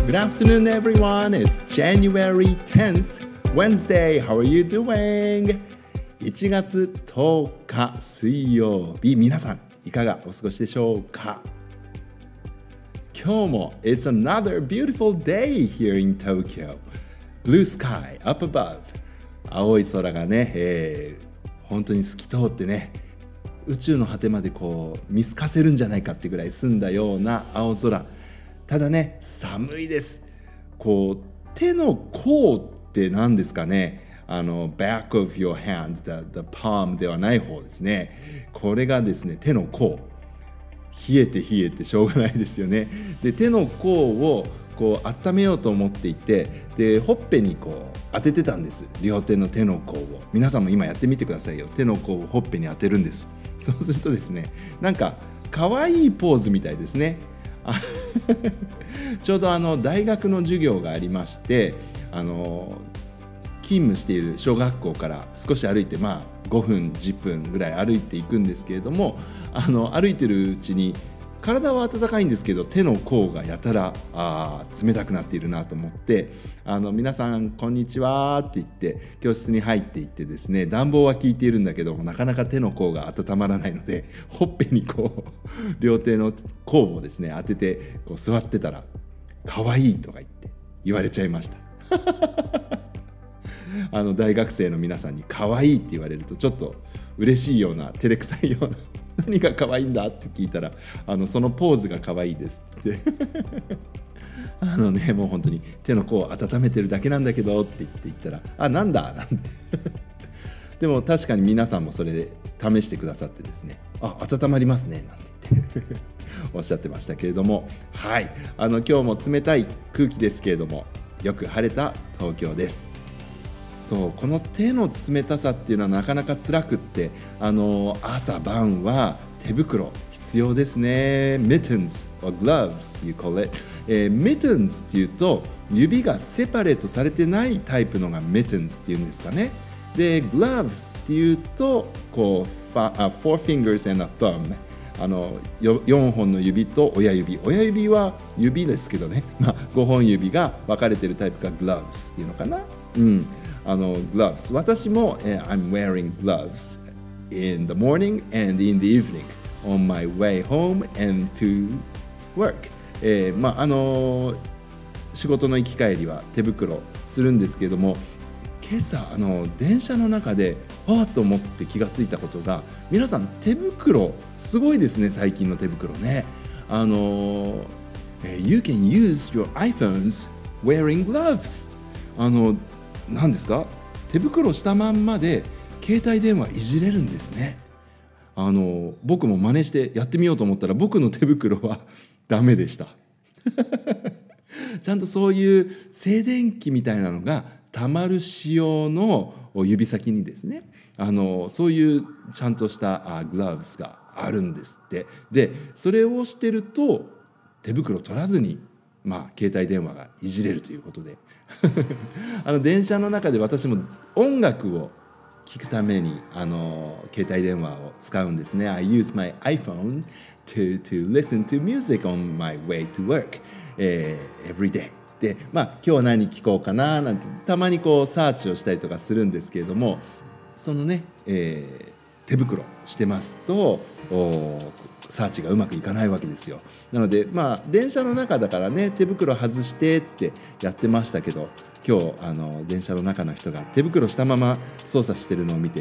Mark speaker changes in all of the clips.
Speaker 1: Good afternoon, everyone. It's January 10th, Wednesday. How are you doing? 1月10日水曜日、皆さんいかがお過ごしでしょうか？今日も It's another beautiful day here in Tokyo. Blue sky up above. 青い空がね、本当に透き通ってね、宇宙の果てまでこう見透かせるんじゃないかってぐらい澄んだような青空。ただね、寒いです。こう手の甲って何ですかね。back of your hand, the palm ではない方ですね。これがですね、手の甲。冷えてしょうがないですよね。で、手の甲をこう温めようと思っていて、でほっぺにこう当ててたんです。両手の手の甲を。皆さんも今やってみてくださいよ。手の甲をほっぺに当てるんです。そうするとですね、なんか可愛いポーズみたいですね。ちょうど大学の授業がありまして、勤務している小学校から少し歩いて、5分10分ぐらい歩いていくんですけれども、歩いてるうちに体は暖かいんですけど、手の甲がやたら冷たくなっているなと思って、皆さんこんにちはって言って教室に入っていってですね、暖房は効いているんだけどなかなか手の甲が温まらないので、ほっぺにこう両手の甲をですね当ててこう座ってたら、かわいいとか言われちゃいました。大学生の皆さんに可愛いって言われるとちょっと嬉しいような、照れくさいような何が可愛いんだって聞いたら、そのポーズが可愛いですって言ってもう本当に手の甲を温めてるだけなんだけどって言ったら、なんだなんてでも確かに皆さんもそれで試してくださってですね、温まりますねなんて言っておっしゃってましたけれども、はい、今日も冷たい空気ですけれども、よく晴れた東京です。そう、この手の冷たさっていうのはなかなか辛くって、朝晩は手袋必要ですね。 Mittens or gloves you call it、mittens っていうと指がセパレートされてないタイプのが mittens っていうんですかね。で gloves っていうとこうfour fingers and a thumb、4本の指と親指は指ですけどね、5本指が分かれてるタイプが gloves っていうのかな。gloves、 私も、I'm wearing gloves in the morning and in the evening on my way home and to work、仕事の行き帰りは手袋するんですけれども、今朝電車の中でと思って気がついたことが、皆さん手袋すごいですね。最近の手袋ね、You can use your iPhones wearing gloves。何ですか、手袋したまんまで携帯電話いじれるんですね。僕も真似してやってみようと思ったら、僕の手袋はダメでしたちゃんとそういう静電気みたいなのがたまる仕様の指先にですね、そういうちゃんとしたグラブスがあるんですって。でそれをしてると手袋取らずに携帯電話がいじれるということで電車の中で私も音楽を聴くために携帯電話を使うんですね。I use my iPhone to listen to music on my way to work、every day。 で、今日は何聴こうかななんてたまにこうサーチをしたりとかするんですけれども、そのね、手袋してますとサーチがうまくいかないわけですよ。なので電車の中だからね、手袋外してってやってましたけど、今日電車の中の人が手袋したまま操作してるのを見て、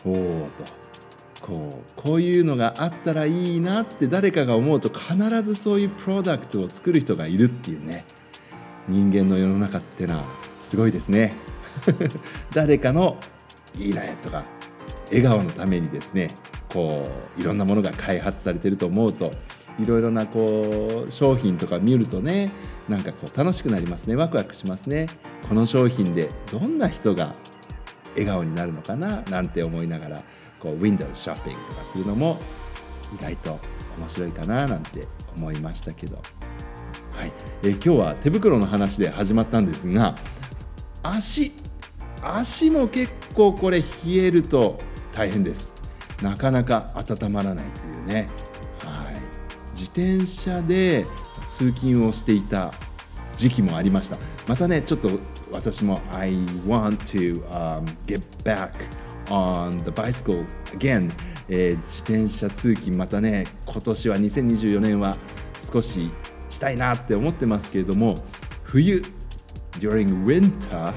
Speaker 1: こういうのがあったらいいなって誰かが思うと、必ずそういうプロダクトを作る人がいるっていうね、人間の世の中ってのはすごいですね誰かのいいねとか笑顔のためにですね、いろんなものが開発されていると思うと、いろいろな商品とか見るとね、なんか楽しくなりますね。ワクワクしますね。この商品でどんな人が笑顔になるのかななんて思いながらウィンドウショッピングとかするのも意外と面白いかななんて思いましたけど、はい、今日は手袋の話で始まったんですが、足も結構これ冷えると大変です。なかなか温まらないというね、自転車で通勤をしていた時期もありました。またねちょっと私も I want to、get back on the bicycle again、自転車通勤またね今年は2024年は少ししたいなって思ってますけれども、冬 during winter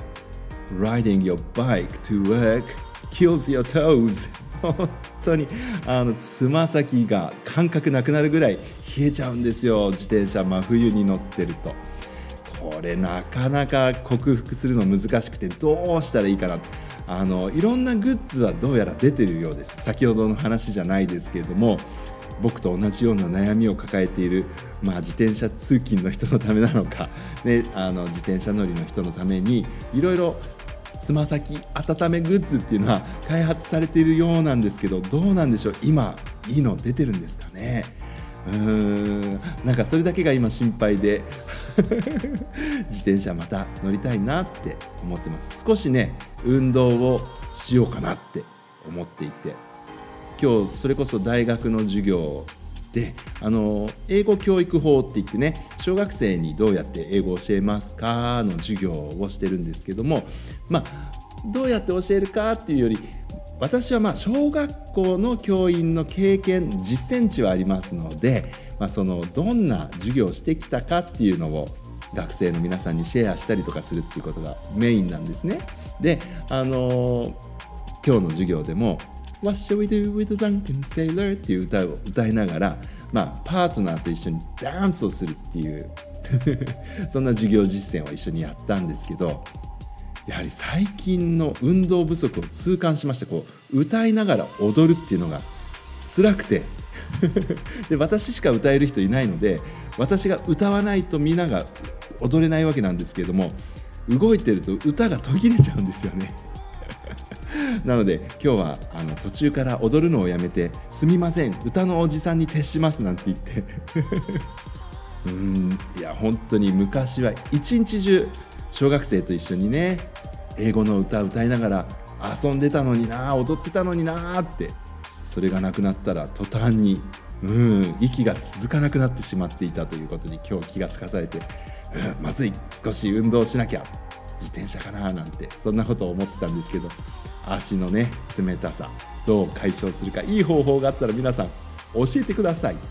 Speaker 1: riding your bike to work kills your toes 本当につま先が感覚なくなるぐらい冷えちゃうんですよ、自転車真冬に乗ってると。これなかなか克服するの難しくてどうしたらいいかな。いろんなグッズはどうやら出てるようです。先ほどの話じゃないですけれども、僕と同じような悩みを抱えている、自転車通勤の人のためなのか、ね、自転車乗りの人のためにいろいろつま先温めグッズっていうのは開発されているようなんですけど、どうなんでしょう、今いいの出てるんですかね。なんかそれだけが今心配で自転車また乗りたいなって思ってます。少しね運動をしようかなって思っていて、今日それこそ大学の授業で英語教育法って言ってね、小学生にどうやって英語を教えますかの授業をしてるんですけども、どうやって教えるかっていうより、私は小学校の教員の経験実践値はありますので、そのどんな授業をしてきたかっていうのを学生の皆さんにシェアしたりとかするっていうことがメインなんですね。で、今日の授業でもWhat shall we do with the drunken sailor っていう歌を歌いながら、パートナーと一緒にダンスをするっていうそんな授業実践を一緒にやったんですけど、やはり最近の運動不足を痛感しました。歌いながら踊るっていうのが辛くてで私しか歌える人いないので、私が歌わないとみんなが踊れないわけなんですけれども、動いてると歌が途切れちゃうんですよねなので今日は途中から踊るのをやめて、すみません歌のおじさんに徹しますなんて言っていや本当に昔は一日中小学生と一緒にね英語の歌を歌いながら遊んでたのにな、踊ってたのになって、それがなくなったら途端に息が続かなくなってしまっていたということに今日気がつかされて、まずい、少し運動しなきゃ、自転車かななんてそんなことを思ってたんですけど、足のね冷たさどう解消するか、いい方法があったら皆さん教えてください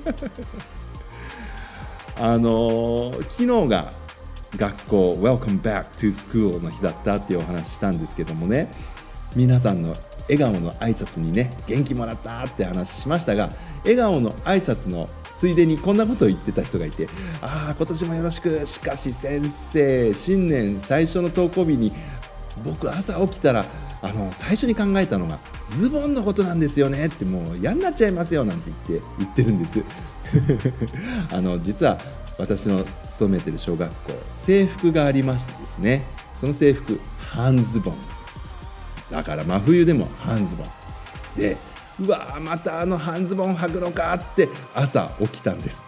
Speaker 1: 昨日が学校 Welcome back to school の日だったっていうお話したんですけどもね、皆さんの笑顔の挨拶にね元気もらったって話しましたが、笑顔の挨拶のついでにこんなことを言ってた人がいて、今年もよろしく、しかし先生新年最初の登校日に僕朝起きたら最初に考えたのがズボンのことなんですよねって、もう嫌になっちゃいますよなんて言ってるんです実は私の勤めてる小学校、制服がありましてですね、その制服半ズボンです。だから真冬でも半ズボンで、また半ズボン履くのかって朝起きたんです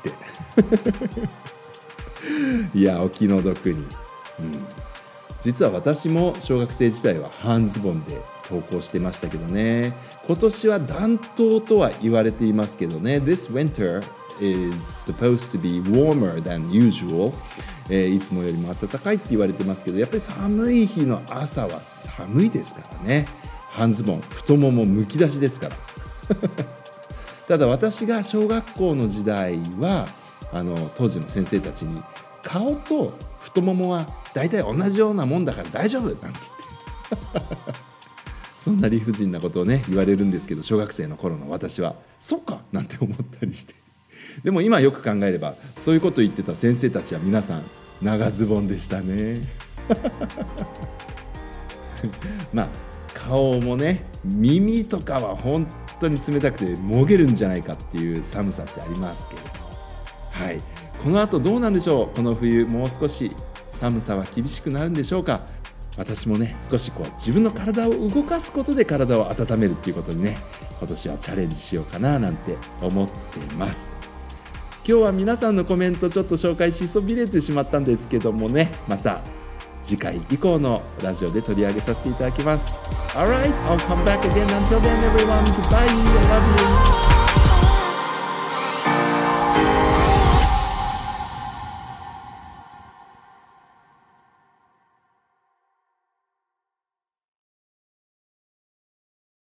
Speaker 1: っていやお気の毒に、実は私も小学生時代は半ズボンで登校してましたけどね。今年は暖冬とは言われていますけどね、 This winter is supposed to be warmer than usual、いつもよりも暖かいって言われてますけど、やっぱり寒い日の朝は寒いですからね。半ズボン、太ももむき出しですからただ私が小学校の時代は当時の先生たちに、顔と太ももは大体同じようなもんだから大丈夫なんて言ってそんな理不尽なことをね言われるんですけど、小学生の頃の私はそっかなんて思ったりして、でも今よく考えればそういうことを言ってた先生たちは皆さん長ズボンでしたね顔もね、耳とかは本当に冷たくてもげるんじゃないかっていう寒さってありますけれども、この後どうなんでしょう。この冬もう少し寒さは厳しくなるんでしょうか。私もね少し自分の体を動かすことで体を温めるっていうことにね、今年はチャレンジしようかななんて思っています。今日は皆さんのコメントちょっと紹介しそびれてしまったんですけどもね、また次回以降のラジオで取り上げさせていただきます。Alright, I'll come back again. Until then, everyone, goodbye. I love you.